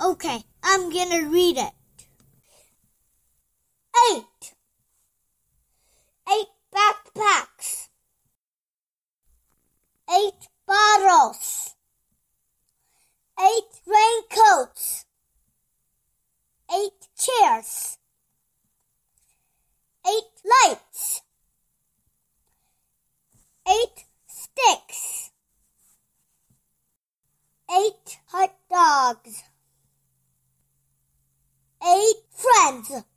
Okay, I'm gonna read it. 8 backpacks. 8 bottles. 8 raincoats. 8 chairs. 8 lights. 8 sticks. 8 hot dogs. 8 friends.